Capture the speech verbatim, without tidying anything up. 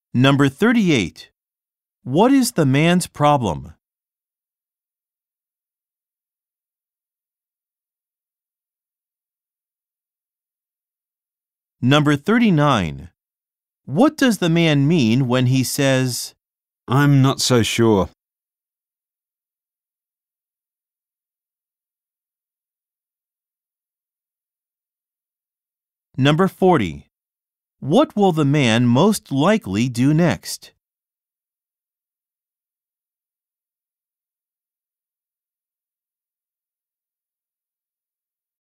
Number thirty-eight. What is the man's problem? Number thirty-nine. What does the man mean when he says, I'm not so sure. Number forty. What will the man most likely do next?